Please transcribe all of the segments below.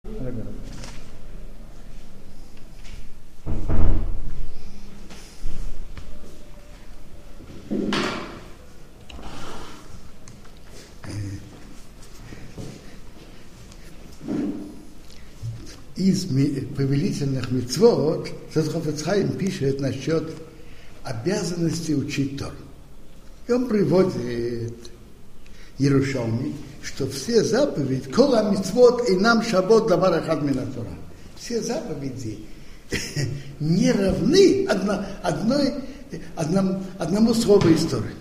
Из повелительных мицвот Хафец Хаим пишет насчет обязанности учить Тору. И он приводит Иерушалми, что все заповеди, кола мицвот и нам шабот давар ахад мина Тора. Все заповеди не равны одному слову истории.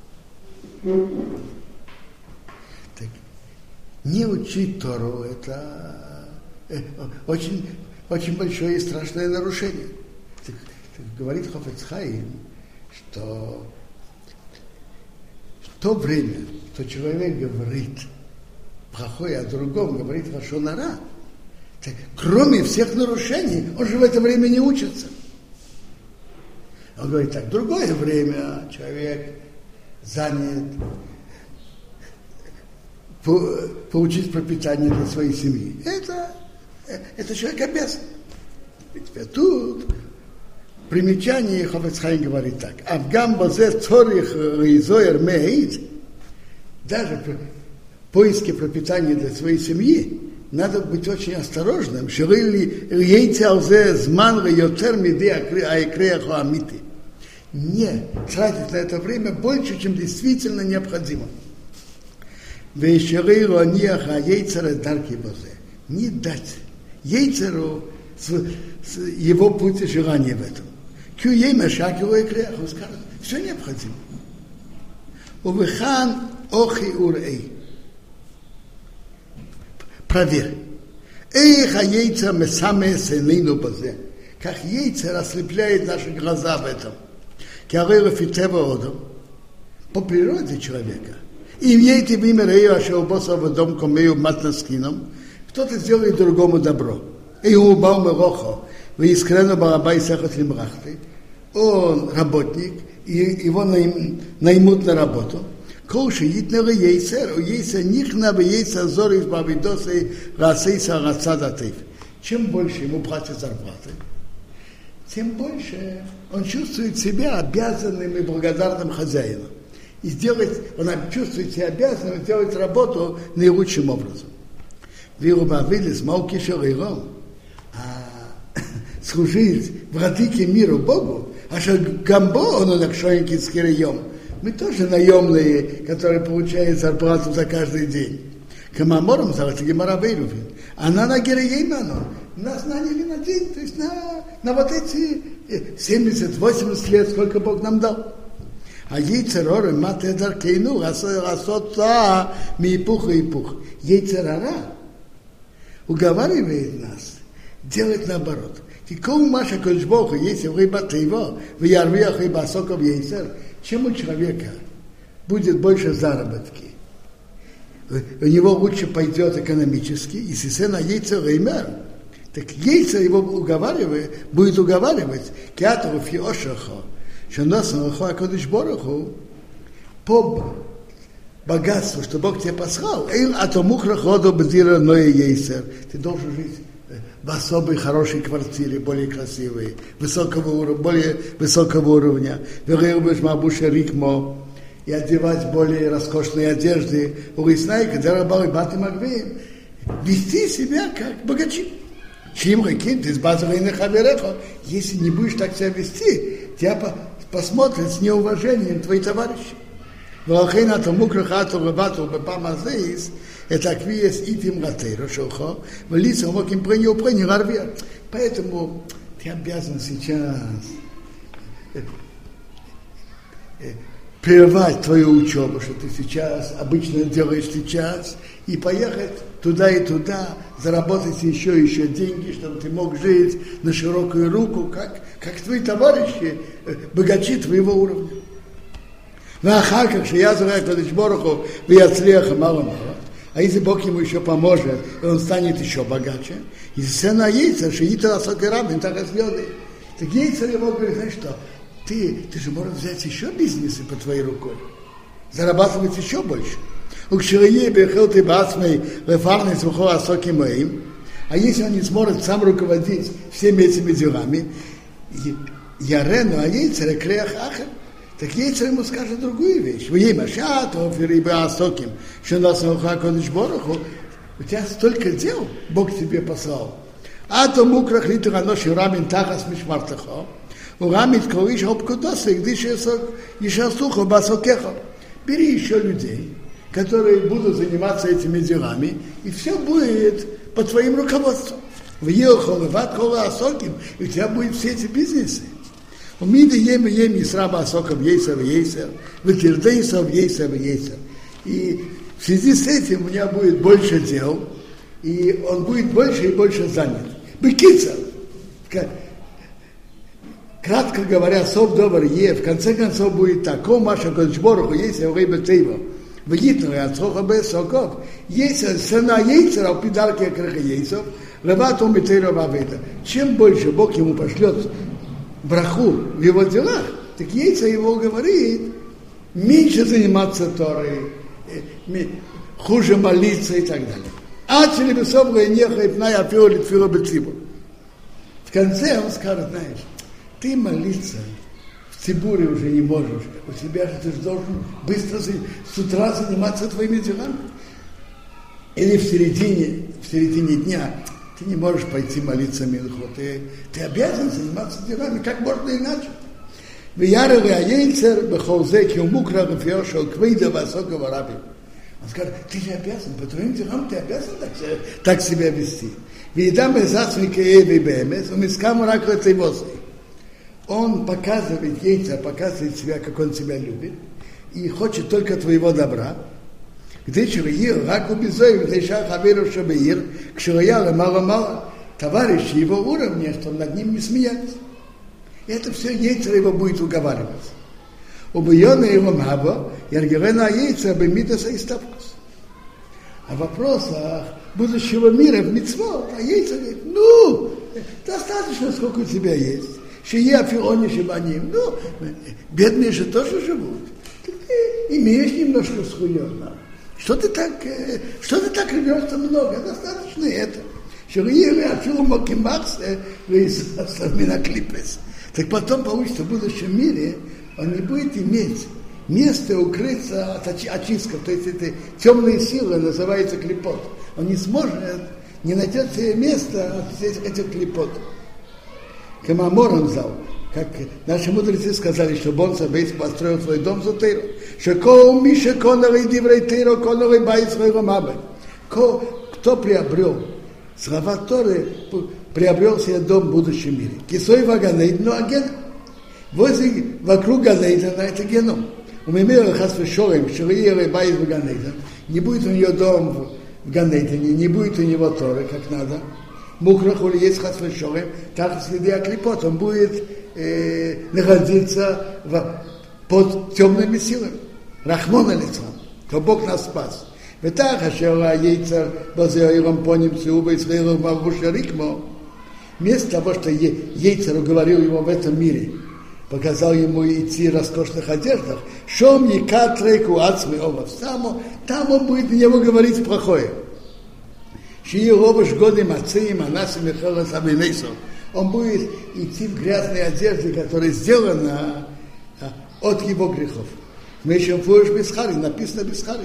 Так, не учить Тору — это очень, очень большое и страшное нарушение. Так говорит Хафец Хаим, что в то время, что человек говорит плохое о другом, говорит лашон ара, так, кроме всех нарушений, он же в это время не учится. Он говорит так, в другое время человек занят получить пропитание для своей семьи. Это человек обязан. Ведь тут примечание Хафец Хаим говорит так. Авгам базе цорих изоер меид. Даже в поиске пропитания для своей семьи надо быть очень осторожным. Не тратить на это время больше, чем действительно необходимо. Не дать Ейцеру его путь и желание в этом. Он скажет, все необходимо. Увыхан охи урей. Проверь. Эх, Ейцер месаме сенейну базе. Как Ейцер ослепляет наши глаза в этом. По природе человека. И имеете в имя Рею Ашеубоса в дом Комею Матнаскином. Кто-то сделает другому добро. Он работник, и его наймут на работу. Чем больше ему платят зарплаты, тем больше он чувствует себя обязанным и благодарным хозяином. И он чувствует себя обязанным сделать работу наилучшим образом. Служить владыке миру Богу, мы тоже наемные, которые получают зарплату за каждый день. Камамором зовут Гемара Бейрувин. Она на Гереейману. Нас наняли на день, то есть на вот эти 70-80 лет, сколько Бог нам дал. А Ейцерора мате даркейну асоца мипуха и пух. Ейцерара уговаривает нас делать наоборот. Кикому маша кольчбоха, если рыбата его, в ярвиях и басоков ейцер, чем у человека будет больше заработки, у него лучше пойдет экономически, и если на яйцер реймер, так яйцер его будет уговаривать, кятару фиошахо, что нас нахуа кодыш бороху, по богатству, что Бог тебе послал, а то мухра ходу бдира ноя яйцер, ты должен жить в особой хорошей квартире, более красивой, более высокого уровня, и одевать более роскошные одежды, вести себя как богачи. Если не будешь так себя вести, тебя посмотрят с неуважением твои товарищи. Это аквиес итим ратейро шелхо, в лицо моким преню гарвия. Поэтому ты обязан сейчас прервать твою учебу, что ты сейчас обычно делаешь сейчас, и поехать туда и туда, заработать еще деньги, чтобы ты мог жить на широкую руку, как твои товарищи, богачи твоего уровня. А если Бог ему еще поможет, и он станет еще богаче, и сцена яйца, шиитра сокерабин, так разглядывает. Так яйца ему говорит, знаешь что, ты же можешь взять еще бизнесы под твоей рукой, зарабатывать еще больше. А если он не сможет сам руководить всеми этими делами, Ярену, а Ейцер, Креах Ахер, так Ейцер ему скажет другую вещь. Вы ей машат, офириба асоким, что нас науха кодыш бороху, у тебя столько дел Бог тебе послал. А то мукрах литу ганош юрамин тахас мишмартахо, урамит ковиш обкудоса, где еще сухо басокехо. Бери еще людей, которые будут заниматься этими делами, и все будет по твоим руководствам. В Ехол, в Аткола Асоким, и у тебя будут все эти бизнесы. У Миды ем Исраба Асоков Ейсер, в Тирдейсов Ейсер. И в связи с этим у меня будет больше дел, и он будет больше и больше занят. Бекица, кратко говоря, сов добр е, в конце концов будет так, о Маша Кодшбороху, есть Рейба Тейва, в Гитну, Ацоха Бесоков, есть сына Ейцера, в пидарке Краха Ейсов, Рабат он Бетейра Ваведа. Чем больше Бог ему пошлет браху в его делах, так Ейцер его говорит, меньше заниматься Торой, хуже молиться и так далее. Ачели бесобга и неха и пная апиоли тфила бецибу. В конце он скажет, знаешь, ты молиться в Цибуре уже не можешь, у тебя же ты должен быстро с утра заниматься твоими делами. Или в середине дня ты не можешь пойти молиться Минху, ты обязан заниматься делами, как можно иначе. В Ярове Аейцер, Бехолзеки, Умукра, Гефиошел, Квейда, Васокова, Раби. Он скажет, ты же обязан, по твоим делам ты обязан так себя вести. Он показывает Ейцер, показывает себя, как он себя любит, и хочет только твоего добра. Товарищи его уровня, что над ним не смеялись. И это все Ейцер его будет уговаривать. Убьённый его маво, Яргевена Ейцер бемитаса и ставкус. О вопросах будущего мира в мицвот, а Ейцер говорит, достаточно, сколько у тебя есть. Шия фиони шибаним, бедные же тоже живут. Ты имеешь немножко схуёна. Что ты так рвёшься много? Достаточно это. Так потом получится в будущем мире, он не будет иметь место укрыться от очистков, то есть это темные силы, называется клипот. Он не сможет, не найдет себе места от этих клипот. Камамор он взял, как наши мудрецы сказали, что Бонса Бейс построил свой дом за Тейру. Шекоу Миша Коновый Диврей Тейру, Коновый Байс своего Мабы. Кто приобрел слова Торы, приобрел себе дом в будущем мире. Кисой Ваганейд, но аген. Вокруг Ганейдана это геном. У Мемера Хасвешорем, Шириеры Байс в Ганейдан. Не будет у нее дом в Ганейдане, не будет у него Торы, как надо. Мухрахули есть Хасвешорем, так следы оклепот, он будет находиться под темными силами. Рахмона лицом, то Бог нас спас. ותח אשר היצר בזה העירום פונים צאו בישראל ובבוש הריקמו. Вместо того, что Ейцер уговорил его в этом мире, показал ему идти в роскошных одеждах, шом якат рейку ацмы овов, там он будет на него говорить плохое. Шии овош годы мацеем, анасим и хелас абинейсов. Он будет идти в грязной одежде, которая сделана от его грехов. Мы еще в Фуэш Бесхари, написано Бесхари.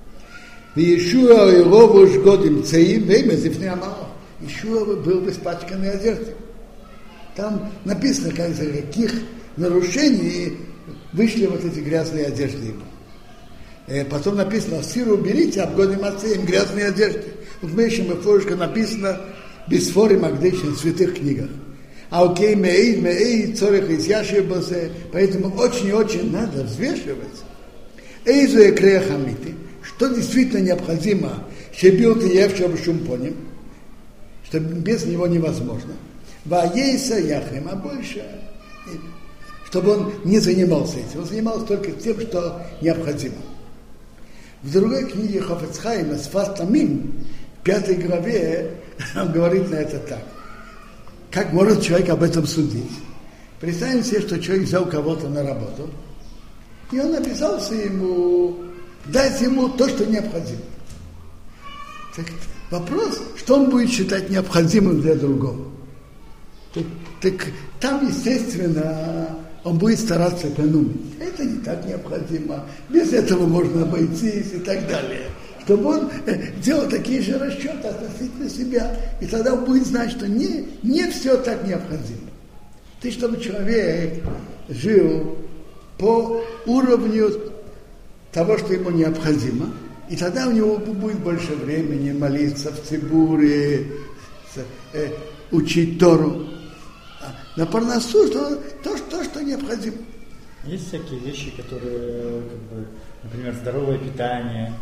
Иешуа и овош годим цеим, время зифней амалов. Иешуа был в испачканной одежде. Там написано, из-за каких нарушений вышли вот эти грязные одежды ему. Потом написано, сиру уберите, обгоним отцеем грязные одежды. В Мейшем и Форушка написано, бисфори магдейшин, в святых книгах. А окей, меид, цорих из яшибосе, поэтому очень-очень надо взвешивать. Эйзуэ креахамити, что действительно необходимо, щебил ты евшего шумпоним, что без него невозможно. Ваейса яхем, а больше, чтобы он не занимался этим. Он занимался только тем, что необходимо. В другой книге Хафец Хаим, Сфас Тамим, в 5 главе, он говорит на это так. Как может человек об этом судить? Представим себе, что человек взял кого-то на работу, и он обязался ему дать ему то, что необходимо. Так, Вопрос, что он будет считать необходимым для другого. Так там, естественно, он будет стараться экономить. Это не так необходимо. Без этого можно обойтись и так далее. Чтобы он делал такие же расчеты относительно себя. И тогда он будет знать, что не все так необходимо. Чтобы человек жил по уровню того, что ему необходимо, и тогда у него будет больше времени молиться в цибуре, учить Тору. На парнасу то, что необходимо. Есть всякие вещи, которые, например, здоровое питание,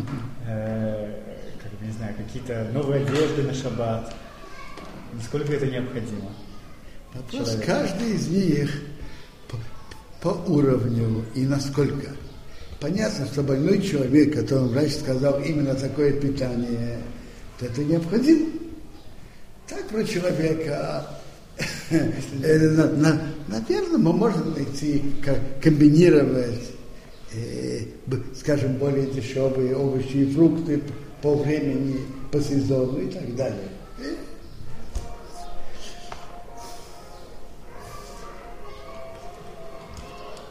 не знаю, какие-то новые одежды на шаббат. Насколько это необходимо? Вопрос, каждый из них по уровню и насколько. Понятно, что больной человек, которому врач сказал именно такое питание, то это необходимо. Так про человека, наверное, мы можем найти, комбинировать, скажем, более дешевые овощи и фрукты по времени, по сезону и так далее.